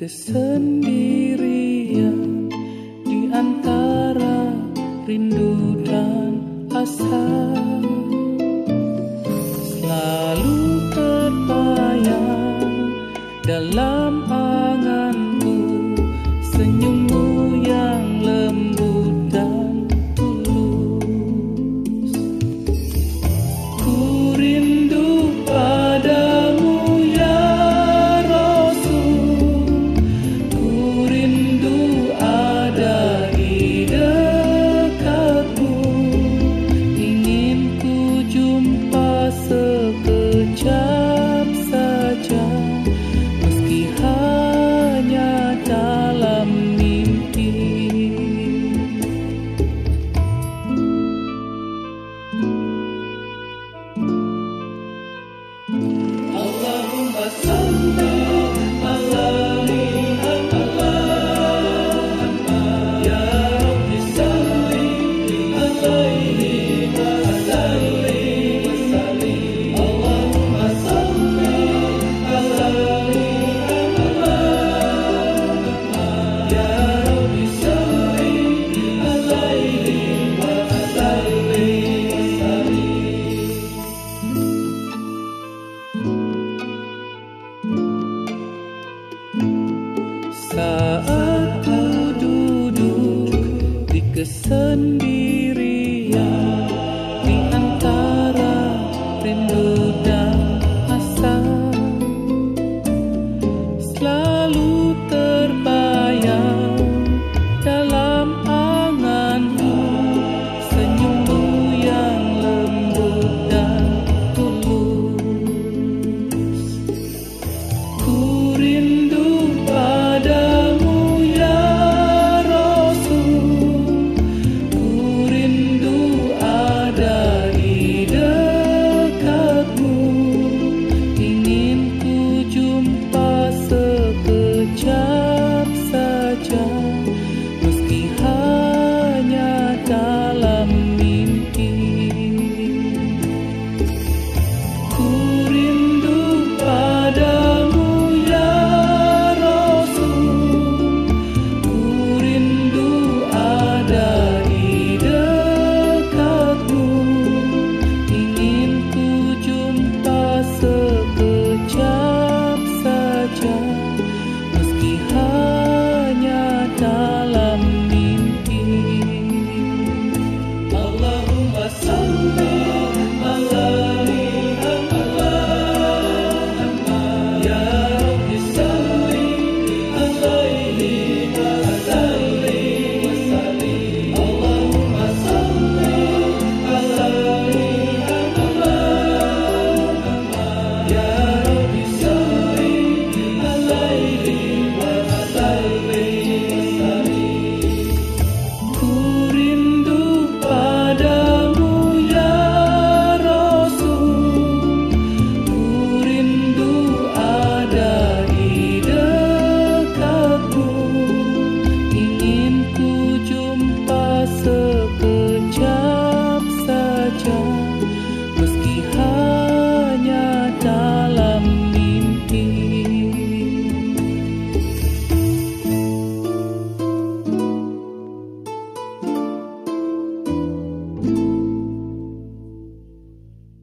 kesendirian di antara rindu dan asa, selalu terbayang dalam anganku senyummu yang lembut dan tulus. Ku rindu padamu ya Rasul, ku rindu ada di dekatmu. Ingin ku jumpa sekejap saja, meski hanya dalam mimpi. Allahumma salli ala Muhammad, ya Rabbi salli alaihi wa sallim. Allahumma salli ala Muhammad, ya Rabbi salli alaihi wa sallim. Saat ku duduk di kesendirian